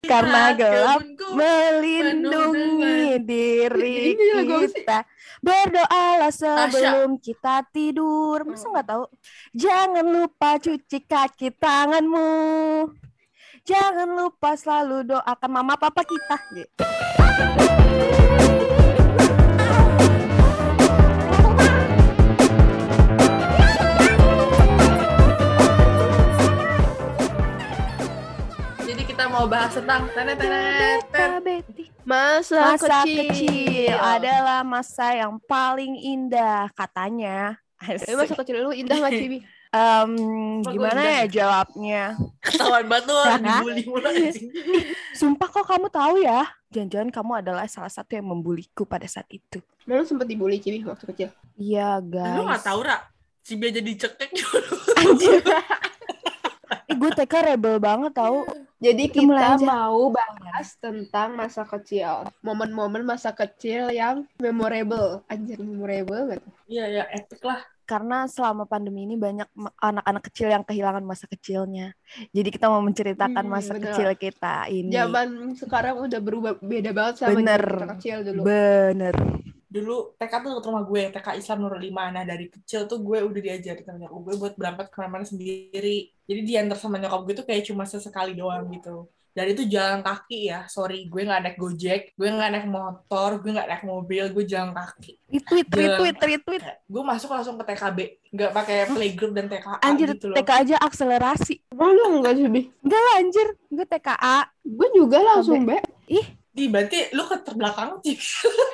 Karena gelap kebunku melindungi diri kita. Berdoalah sebelum kita tidur. Masa nggak tahu? Jangan lupa cuci kaki tanganmu. Jangan lupa selalu doakan mama papa kita. Jadi kita mau bahas tentang Masa kecil adalah masa yang paling indah katanya. Masa kecil lu indah nggak, Cibi? Gimana ya jawabnya? Ketahuan banget tuh orang dibully mulu anjing. Sumpah kok kamu tahu ya? Jangan-jangan kamu adalah salah satu yang membuliku pada saat itu. Lu sempet dibully, Cibi, waktu kecil? Iya, guys. Lu nggak tahu, Ra? Si Bia jadi cekek dulu. Anjir. Gue TK rebel banget tau. Jadi kita mau bahas tentang masa kecil. Momen-momen masa kecil yang memorable. Anjir, memorable gak tuh? Iya, epic lah. Karena selama pandemi ini banyak anak-anak kecil yang kehilangan masa kecilnya. Jadi kita mau menceritakan masa kecil kita ini. Zaman sekarang udah berubah, beda banget sama kita kecil dulu. Bener. Dulu TK tuh ke rumah gue, TK Islam Nurul 5. Nah dari kecil tuh gue udah diajarin sama nyokap gue buat berangkat kemana-mana sendiri. Jadi diantar sama nyokap gue tuh kayak cuma sesekali doang gitu. Dan itu jalan kaki ya, sorry, gue gak naik Gojek, gue gak naik motor, gue gak naik mobil, gue jalan kaki. Retweet. Gue masuk langsung ke TKB, gak pakai playgroup dan TKA. Anjir, gitu loh. TK aja akselerasi. Lu enggak, Cibi? Enggak lah anjir, gue TKA. Gue juga langsung, Be. Berarti lu ke terbelakang sih.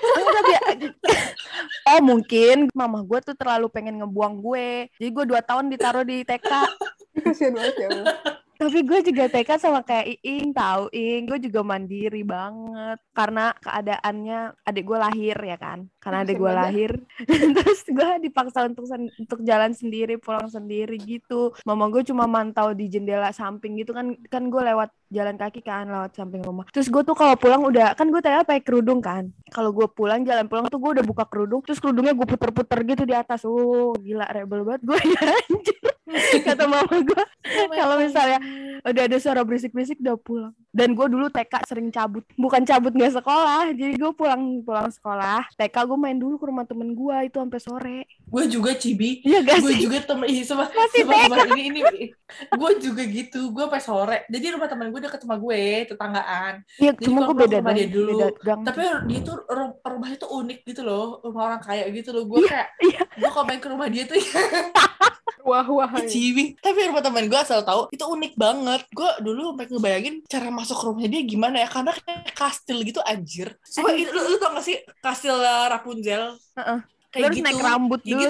Oh mungkin mama gue tuh terlalu pengen ngebuang gue. Jadi gue 2 tahun ditaruh di TK. Kasian banget ya Allah. Tapi gue juga TK sama kayak Iing, tahu Iing, gue juga mandiri banget karena keadaannya adik gue lahir ya kan, karena adik gue lahir, terus gue dipaksa untuk jalan sendiri, pulang sendiri gitu. Mama gue cuma mantau di jendela samping gitu kan gue lewat jalan kaki kan, lewat samping rumah. Terus gue tuh kalau pulang udah kan gue tadi pakai kerudung kan, kalau gue jalan pulang tuh gue udah buka kerudung, terus kerudungnya gue puter-puter gitu di atas. Gila rebel banget gue ya anjir. Kata mama gue kalau misalnya udah ada suara berisik-berisik udah pulang. Dan gue dulu TK sering cabut, bukan cabut nggak sekolah, jadi gue pulang sekolah TK gue main dulu ke rumah temen gue itu sampai sore. Gue juga, Cibi. Iya gak gue sih? juga sama ini gue juga gitu, gue sampai sore. Jadi rumah temen gue deket sama gue, tetanggaan. Iya, cuma gue beda dia dulu. Beda gang. Tapi dia tuh rumahnya tuh unik gitu loh, rumah orang kaya gitu loh. Gue kayak gue kalau main ke rumah dia tuh wah Cibi. Tapi rumah teman gue asal tahu itu unik banget. Gue dulu sampai ngebayangin cara masuk ke rumahnya dia gimana ya, karena kayak kastil gitu anjir. Coba lu tau gak sih kastil Rapunzel? Kayak terus gitu, naik rambut dulu. Gitu.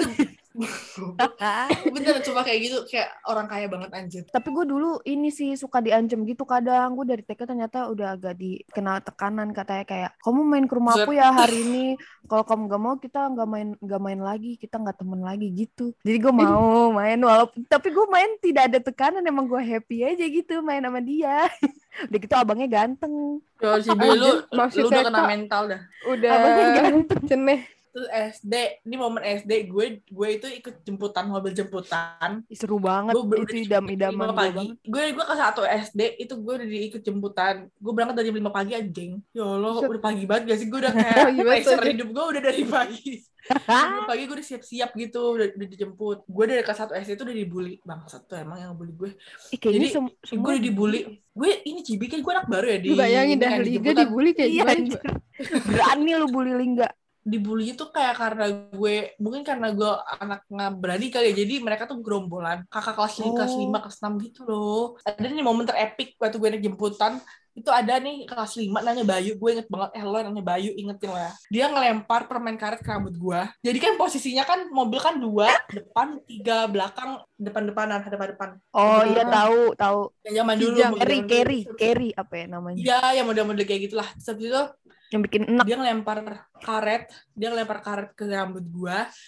Bener, cuma kayak gitu, kayak orang kaya banget anjir. Tapi gue dulu ini sih suka diancam gitu kadang. Gue dari TK ternyata udah agak dikenal tekanan, katanya kayak kamu main ke rumahku ya hari ini, kalau kamu gak mau kita nggak main lagi, kita nggak temen lagi gitu. Jadi gue mau main, walaupun tapi gue main tidak ada tekanan, emang gue happy aja gitu main sama dia. Udah gitu abangnya ganteng. Si lu udah kena mental dah. Udah abangnya ganteng ceneh. Terus SD, ini momen SD gue itu ikut mobil jemputan. Seru banget, itu idam-idaman pagi. Gue kelas 1 SD itu gue udah diikut jemputan. Gue berangkat dari 5 pagi anjing. Ya Allah, udah pagi banget gak sih? Gue udah kayak pressure hidup gue udah dari pagi. 5 pagi gue udah siap-siap gitu, udah dijemput. Gue dari kelas 1 SD itu udah dibully. Bangsat tuh emang yang bully gue. Jadi gue udah dibully. Gue ini Cibi kan gue anak baru ya di. Bayangin dah Liga dibully kayak gimana? Berani lu bully Lingga. Dibully itu kayak karena gue, mungkin karena gue anak nggak berani kali ya, jadi mereka tuh gerombolan kakak kelas 5, kelas 6 gitu loh. Ada nih momen terepik waktu gue naik jemputan, itu ada nih kelas 5 nanya Bayu, gue inget banget, lo nanya Bayu, ingetin lah, dia ngelempar permen karet ke rambut gue. Jadi kan posisinya kan mobil kan 2 depan 3 belakang, depan-depanan. Oh iya, tahu yang zaman dulu carry apa ya namanya, iya yang model-model kayak gitulah. Terus itu yang bikin enak. Dia ngelempar karet ke rambut gua.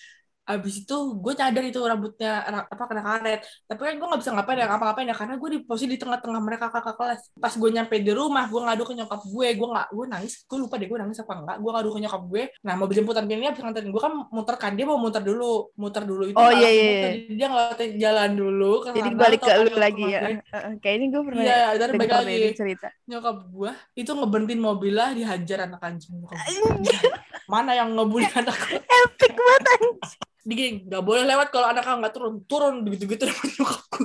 Abis itu gue cadar itu rambutnya kena karet. Tapi kan gue nggak bisa ngapain ya karena gue di posisi di tengah-tengah mereka kakak kelas. Pas gue nyampe di rumah, gue ngadu ke nyokap gue nangis. Gue lupa deh gue nangis apa enggak. Gue ngadu ke nyokap gue. Nah mobil jemputan ini abis nganterin gue kan muter kan, dia mau muter dulu itu Oh nggak iya langsung iya. muter. Iya. Jadi dia ngeliatin jalan dulu ke Jadi sana. balik Tau ke kan lu nyokap lagi ya. gue. Kayak ini gue pernah Iya, dan balik denger lagi. deh cerita. Nyokap gue itu ngeberhentiin mobil lah, dihajar anak anjing nyokap gue. Mana yang ngebully anak gue? Epic banget anjing. Digini, nggak boleh lewat kalau anak kamu nggak turun gitu-gitu nyokap gue.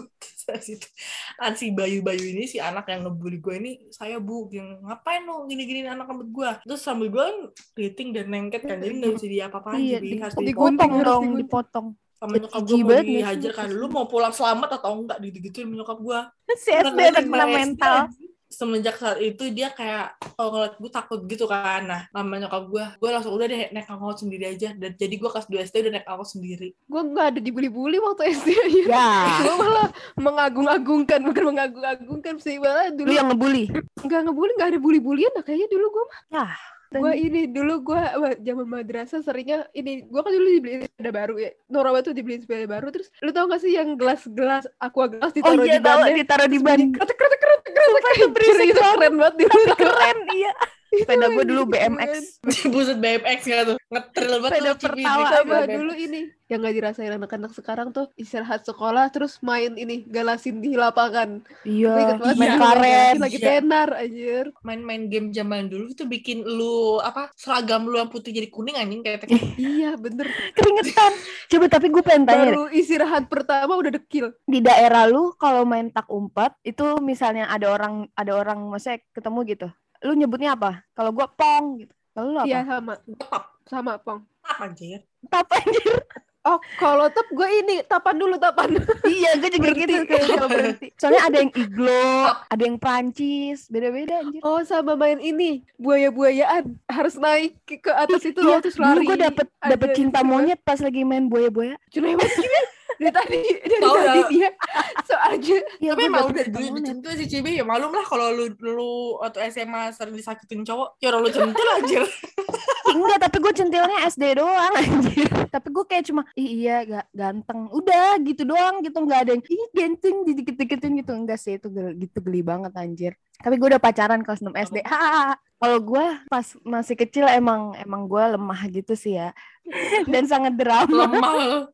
Si Bayu ini si anak yang ngebully gue ini, saya bu yang ngapain lo gini-gini anak rambut gue, terus sambil gue kan keriting dan nengket kan, jadi nggak bisa diapa-apain, Iya, jadi harus dipotong harus dong, digunting. dipotong. sama Jadi nyokap gue jijik mau banget nggak sih? dihajar kan, lu mau pulang selamat atau enggak gitu-gituin nyokap gue. Si SD anak kena mental. Semenjak saat itu dia kayak kalau ngeliat gue takut gitu kan. Nah namanya nyokap gue langsung udah deh naik angkot sendiri aja, dan jadi gue kelas 2 SD udah naik angkot sendiri. Gue nggak ada dibully-bully waktu SD aja. Ya. Gue malah mengagung-agungkan, bukan mengagung-agungkan sih, malah dulu. Lu yang ngebully? Nggak ngebully, nggak ada bully-bulian lah kayaknya dulu gue mah. Nah, Gue ini dulu gue zaman madrasah seringnya ini, gue kan dulu dibeliin sepeda baru ya, Norawa tuh dibeliin sepeda baru, terus lu tau gak sih yang gelas aqua gelas ditaruh di bannya, ditaruh di ban. kretek berisik, keren banget dulu. Keren, iya. Sepeda gue dulu BMX. Buset BMX gak tuh, ngetril banget. Sepeda tuh, pertama sama dulu ini yang gak dirasain anak-anak sekarang tuh istirahat sekolah terus main ini galasin di lapangan. Iya, main karet lagi tenar anjir. Main-main game zaman dulu itu bikin lu seragam lu yang putih jadi kuning anjing kayak iya bener, keringetan. Coba tapi gue pengen tanya, baru istirahat pertama udah dekil. di daerah lu kalau main tak umpat itu misalnya ada orang maksudnya ketemu gitu, lu nyebutnya apa? Kalau gue pong gitu. Kalau lu apa? Iya sama pong. apa anjir? Tap anjir. Oh, kalau tap gue ini tapan. Iya, gue juga gitu kayak berhenti. Soalnya ada yang iglo, ada yang Prancis, beda-beda anjir. Oh, sama main ini buaya-buayaan, harus naik ke atas itu iya, terus lari. Dulu gue dapet cinta monyet pas lagi main buaya-buaya. Cuma dari tadi dia soalnya. Ya, tapi emang udah dulu dicentul si Cibi, ya malum lah kalau lu waktu SMA sering disakitin cowok, ya orang lu centil aja. Enggak, tapi gue centilnya SD doang anjir. Tapi gue kayak cuma iya ganteng, udah gitu doang gitu, nggak ada yang ganteng dikit-dikitin gitu, enggak sih, itu gitu geli banget anjir. Tapi gue udah pacaran kelas 6 SD. Kalau gue pas masih kecil emang gue lemah gitu sih ya. Dan sangat drama. Lemah.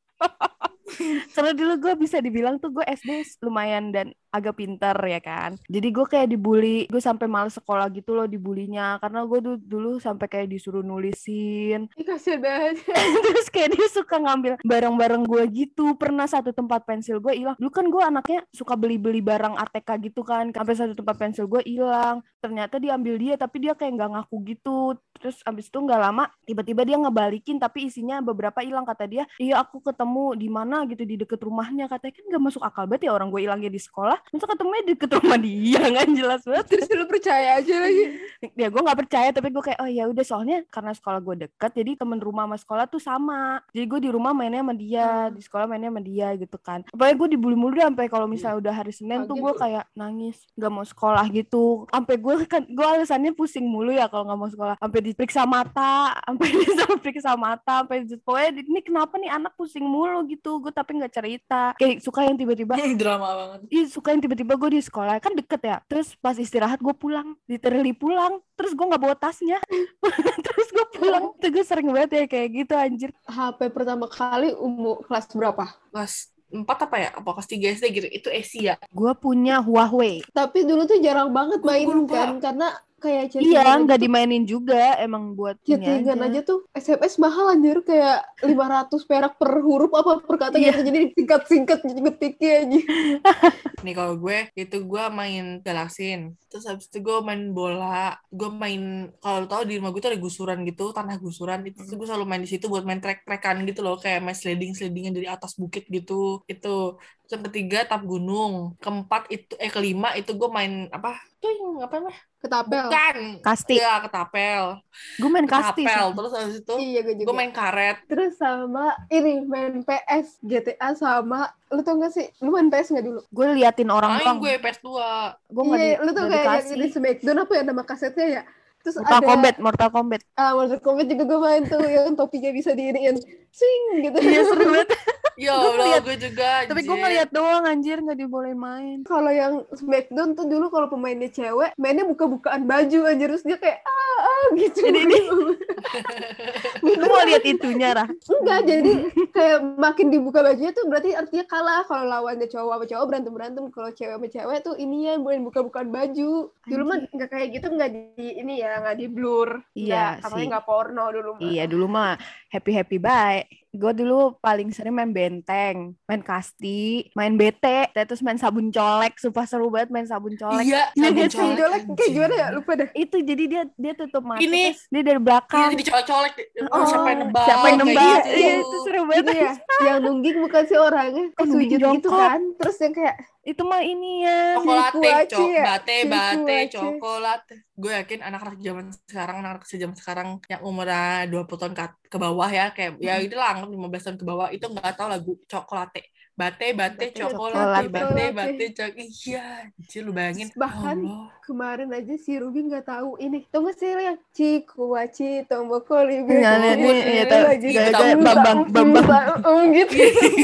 Karena dulu gue bisa dibilang tuh gue SD lumayan dan agak pintar ya kan. Jadi gue kayak dibully, gue sampai males sekolah gitu loh dibulinya, karena gue dulu sampai kayak disuruh nulisin. Kasian banget. Terus kayak dia suka ngambil barang-barang gue gitu. Pernah satu tempat pensil gue hilang. Dulu kan gue anaknya suka beli-beli barang ATK gitu kan. Sampai satu tempat pensil gue hilang. Ternyata diambil dia, tapi dia kayak nggak ngaku gitu. Terus abis itu nggak lama tiba-tiba dia ngebalikin, tapi isinya beberapa hilang. Kata dia, iya aku ketemu di mana gitu, di deket rumahnya. Katanya kan nggak masuk akal banget ya, orang gue hilangnya di sekolah, masa ketemunya di deket rumah dia, nggak jelas banget. Terus lu percaya aja lagi? Ya gue nggak percaya, tapi gue kayak oh ya udah, soalnya karena sekolah gue deket, jadi temen rumah sama sekolah tuh sama. Jadi gue di rumah mainnya sama dia, di sekolah mainnya sama dia gitu kan. Pokoknya gue dibully mulu deh, sampai kalau misalnya udah hari Senin tuh gue kayak nangis, nggak mau sekolah gitu. Sampai gue alasannya pusing mulu ya kalau nggak mau sekolah. Sampai diperiksa mata, sampai pokoknya ini kenapa nih anak pusing mulu gitu. Gue tapi nggak cerita. Kayak suka yang tiba-tiba drama banget. Iya, suka yang tiba-tiba gue di sekolah kan deket ya. Terus pas istirahat gue pulang, literally pulang. Terus gue nggak bawa tasnya. Terus gue pulang. Itu gue sering banget ya kayak gitu anjir. HP pertama kali umur kelas berapa? Kelas 4 apa ya? Apa kelas 3 SD gitu? Itu Asia. Gue punya Huawei. Tapi dulu tuh jarang banget main kan, karena kayak iya, nggak dimainin juga, emang buat chattingan aja tuh. SMS mahal anjir, kayak 500 perak per huruf apa per kata gitu, jadi singkat-singkat ngetiknya aja. Nih kalau gue main galaksin, terus habis itu gue main bola, gue main, kalau tau di rumah gue tuh ada gusuran gitu, tanah gusuran, itu gue selalu main di situ buat main trek-trekan gitu loh, kayak main sliding-slidingan dari atas bukit gitu. Itu yang ketiga tap gunung, kelima itu gue main apa tuh yang apa namanya, ketapel, bukan kasti ya, ketapel. Gue main kasti sih. Terus habis itu iya, gue main karet, terus sama ini main PS GTA, sama lu tau gak sih, lu main PS nggak dulu? Gue liatin orang gue PS2. Gue iya, lu tuh kayak yang di Smackdown apa ya nama kasetnya ya, Terus Mortal Kombat. Mortal Kombat juga gue main tuh yang topinya bisa diiriin swing gitu. Iya seru banget. Ya Gua Allah, ngeliat- gue juga. Tapi gue ngeliat doang anjir, nggak dibolehin main. Kalau yang Smackdown tuh dulu kalau pemainnya cewek, mainnya buka-bukaan baju anjir, terus dia kayak gitu. Jadi lu mau lihat itunya, Rah? Enggak, jadi kayak makin dibuka bajunya tuh berarti artinya kalah. Kalau lawannya cowok sama cowok berantem, kalau cewek sama cewek tuh ininya boleh buka-bukaan baju. Dulu mah nggak kayak gitu, nggak di blur. Iya Katanya sih. nggak porno dulu mah. Iya dulu mah happy bye. Gue dulu paling sering main benteng, main kasti, main BT, terus main sabun colek. Sumpah seru banget main sabun colek. Iya, Iya sabun gak sih? Sabun colek anjing. kayak gimana ya? Lupa dah. Itu jadi dia tutup mata, Ini. terus dia dari belakang. Iya, dicolek-colek. Oh, Siapa yang nebak? Siapa yang kayak nembak? gitu. Iya itu seru banget. Gitu ya. Yang nungging bukan si orangnya, Oh, nungging sujud gitu jongkok. kan. Terus yang kayak Itu mah ini ya. Cokolate, Kuaci ya? bate, Kuaci. cokolate. Gue yakin anak-anak zaman sekarang yang umurnya 20 tahun ke bawah ya, kayak ya itu lah 15 tahun ke bawah itu nggak tahu lagu cokolate. Bate, cokolate, bate, iya, anjir lu bayangin. Bahkan Ya Allah. kemarin aja si Ruby nggak tahu ini. Tau nggak sih yang Cikuaci Tombokoli Iya, iya, tahu. Bambang. gitu.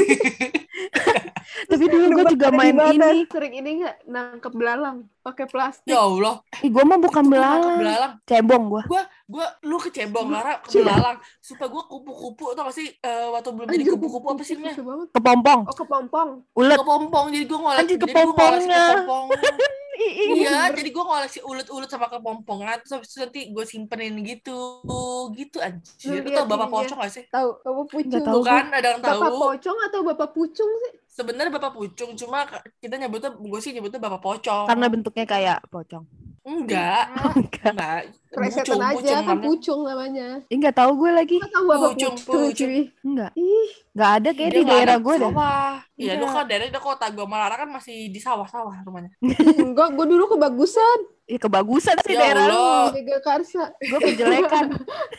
Tapi dulu gue juga main ini. Sering ini nggak nangkep belalang pakai plastik. Ya Allah. Ih, gue mah bukan belalang. Belalang. Cebong gue. Lu kecebong, Lara ke belalang. Sumpah gue kupu-kupu, tau gak sih waktu belum jadi kupu-kupu apa sih namanya? Kepompong. Oh, kepompong. Ulet. Kepompong, jadi gue ngoleksi. Anjir, kepompongnya. Iya, jadi gue ngoleksi ulet-ulet sama kepompongan, terus habis itu nanti gue simpenin gitu anjir. Lu tau Bapak Pocong gak sih? Tahu, Bapak Pucung. Tahu. Bukan, ada yang tahu. Bapak Pocong atau Bapak Pucung sih? Sebenarnya Bapak Pucung, cuma kita gue sih nyebutnya Bapak Pocong. Karena bentuknya kayak pocong. Enggak. Presetan aja kan Pucung namanya. Enggak tahu gue lagi. Nggak tahu Bapak Pucung. Enggak. Ih, Enggak ada kayak di daerah gue dah. Iya, lu kan daerahnya kota. Gue malah kan masih di sawah-sawah rumahnya. enggak, gue dulu kebagusan. Ya kebagusan sih Ya daerah lu. Allah. Mega Karsa. Gue kejelekan.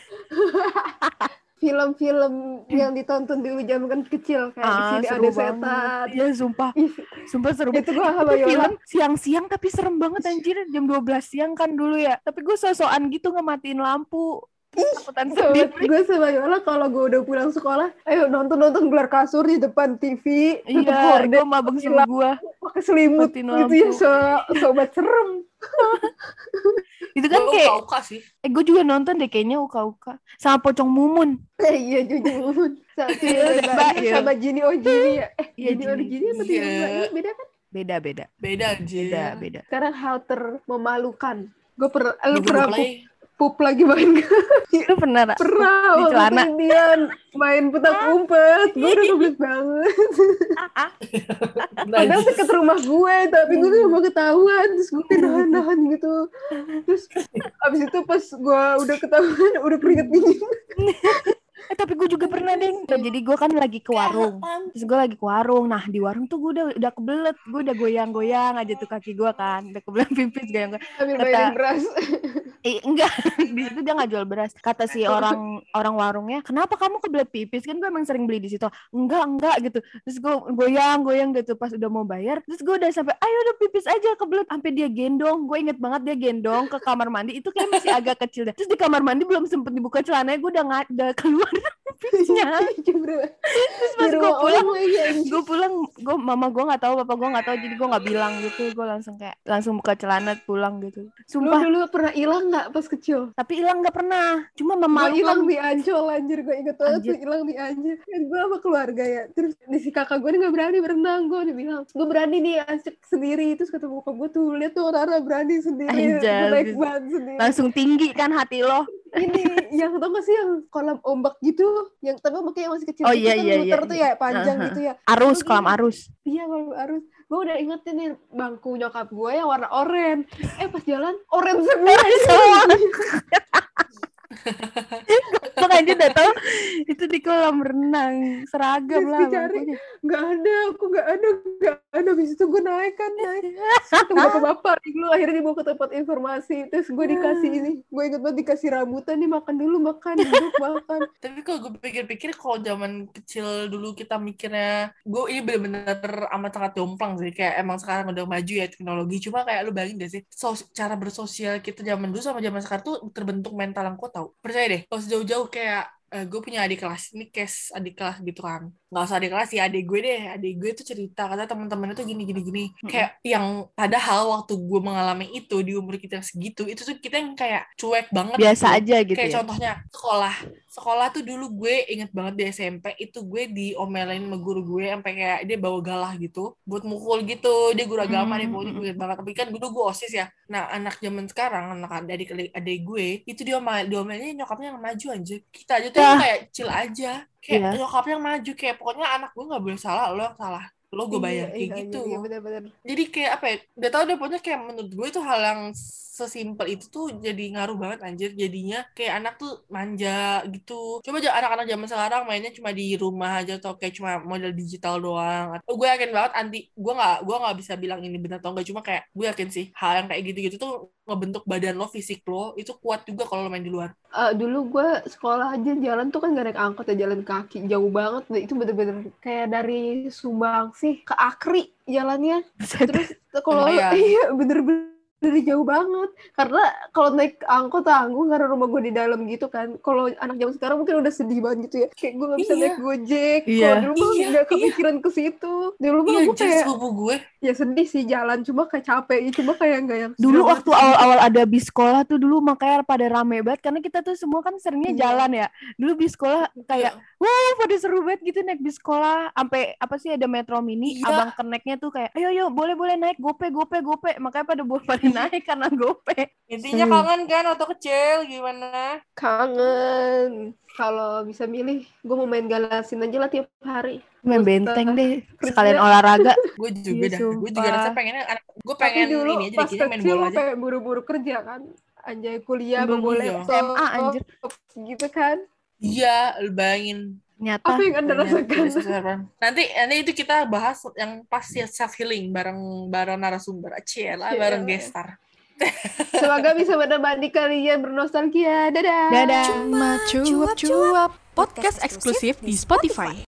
Film-film yang ditonton dulu zaman kecil kayak di sini seru ada banget. setan. Iya sumpah. Sumpah seru Itu banget. gue sama Itu Yola. film siang-siang tapi serem banget anjir. Jam 12 siang kan dulu ya. Tapi gue so-soan gitu ngematiin lampu. Takutan sendiri. Gue sama Yola kalau gue udah pulang sekolah, ayo nonton gelar kasur di depan TV. Iya, gue mabeng sama gue. Pakai selimut Matiin gitu ya, sobat serem. Itu kan Gue kayak uka sih. gue juga nonton deh kayaknya uka-uka sama Pocong Mumun. Iya, jujur. Sama Jini Ojini ya. Iya, Jini Ojini apa Iya. Jini beda kan? Beda. Beda aja. Beda. Sekarang hal termemalukan. Gue pernah pup lagi main Lu pernah Ra? pernah Di waktu celana? Indian main petak umpet. Gue udah goblok banget. Padahal deket rumah gue, tapi gue gak mau ketahuan. Terus gue nahan gitu. Terus abis itu pas gue udah ketahuan, udah keringet dingin. Tapi gue juga pernah deh. Jadi gue kan lagi ke warung. Terus gue lagi ke warung. Nah di warung tuh gue udah kebelet. Gue udah goyang-goyang aja tuh kaki gue kan. Udah kebelet pipis goyang-goyang. Sambil mainin beras. Enggak. Di situ dia nggak jual beras. Kata si orang warungnya, kenapa kamu kebelet pipis? Kan gue emang sering beli di situ. Enggak gitu. Terus gue goyang-goyang gitu. Pas udah mau bayar. Terus gue udah sampai, ayo udah pipis aja kebelet. Sampai dia gendong. Gue inget banget dia gendong ke kamar mandi. Itu kayak masih agak kecil deh. Terus di kamar mandi belum sempet dibuka celananya. Gue udah keluar pipisnya. Terus pas gue pulang, mama gue nggak tahu, papa gue nggak tahu, jadi gue nggak bilang gitu. Gue langsung buka celana pulang gitu. Sumpah. Lu dulu pernah hilang nggak pas kecil? Tapi hilang nggak pernah. Cuma Gue hilang memalukan. di Ancol anjir, gue inget banget tuh hilang di Ancol. Kan gue sama keluarga ya. Terus si kakak gue nggak berani berenang. Gue udah bilang, gue berani nih asik sendiri. Terus kata bokap gue tuh, lihat tuh Rara berani sendiri. Anjay, Naik ban sendiri. Langsung tinggi kan hati lo. Ini yang tau gak sih yang kolam ombak gitu, yang tapi ombaknya masih kecil. Oh, gitu iya, kan iya, muter iya. tuh ya, panjang gitu ya. Arus, kolam arus. Iya, kolam arus. Gue udah ingetin nih bangku nyokap gue yang warna oranye. Pas jalan oranye semua. Gue aja udah tau itu di kolam renang seragam Terus lah gue cari, bangkunya. nggak ada. Habis itu gue naik. Ketemu bapak-bapak dulu, akhirnya dibawa ke tempat informasi. Terus gue dikasih ini, gue inget banget dikasih rambutan nih, makan dulu, duduk makan. Tapi kalau gue pikir-pikir, kalau zaman kecil dulu kita mikirnya, gue ini bener-bener amat sangat jomplang sih. Kayak emang sekarang udah maju ya teknologi. Cuma kayak lu bayangin gak sih, cara bersosial kita zaman dulu sama zaman sekarang tuh terbentuk mental yang kuat tau. Percaya deh, kalau sejauh-jauh kayak gue punya adik kelas, ini case adik kelas gitu kan. Nggak usah adik kelas ya, adik gue tuh cerita, kata teman-temannya tuh gini. Kayak yang padahal waktu gue mengalami itu di umur kita segitu, itu tuh kita yang kayak cuek banget Biasa gitu. aja gitu Kayak ya. contohnya sekolah tuh dulu gue inget banget di SMP itu gue diomelin sama guru gue sampai kayak dia bawa galah gitu buat mukul gitu, dia guru agama deh pokoknya, gue inget banget. Tapi kan dulu gue OSIS ya. Nah anak zaman sekarang, anak adik gue itu diomelin nyokapnya yang maju aja. Kita aja tuh yang kayak chill aja, kayak nyokapnya yang maju, kayak pokoknya anak gue nggak boleh salah, lo yang salah, lo gue bayar kayak gitu. Iya, benar-benar. Jadi kayak apa ya, udah tau deh pokoknya, kayak menurut gue itu hal yang sesimpel itu tuh jadi ngaruh banget anjir. Jadinya kayak anak tuh manja gitu. Coba aja anak-anak zaman sekarang mainnya cuma di rumah aja atau kayak cuma model digital doang. Gue yakin banget gue nggak bisa bilang ini benar atau enggak, cuma kayak gue yakin sih hal yang kayak gitu-gitu tuh ngebentuk badan lo, fisik lo itu kuat juga kalau lo main di luar. Dulu gue sekolah aja jalan tuh kan gak naik angkot ya, jalan kaki jauh banget. Itu bener-bener kayak dari Sumbangsi ke Akri jalannya. Terus kalau iya bener-bener jauh banget. Karena kalau naik angkot tanggung karena rumah gue di dalam gitu kan. Kalau anak zaman sekarang mungkin udah sedih banget gitu ya. Kayak gue gak bisa naik Gojek. Kalau dulu mah gak kepikiran ke situ. Dulu mah gue kayak gue ya sedih sih jalan, cuma kayak capek. Cuma kayak gak yang dulu waktu awal-awal ada bis sekolah tuh dulu makanya pada rame banget karena kita tuh semua kan seringnya jalan ya. Dulu bis sekolah kayak pada seru banget gitu naik bis sekolah. Sampai apa sih ada Metro Mini, abang keneknya tuh kayak ayo boleh naik gope. Makanya pada naik karena gope. Intinya kangen kan waktu kecil, gimana? Kangen. Kalau bisa milih, gue mau main Galasin aja lah tiap hari. Main benteng deh, sekalian olahraga. Gue juga gue juga rasa pengennya, gue pengen dulu, ini aja dikira main bola aja. kayak buru-buru kerja kan. Anjay kuliah mau boleh SMA anjir. Gitu kan. Iya, lu bayangin. Nyata. Apa yang Anda rasakan? Nanti itu kita bahas yang pasti self healing bareng narasumber, bareng gestar. Semoga bisa menemani kalian bernostalgia. Dadah. Dadah. Cuma cuap-cuap podcast eksklusif di Spotify.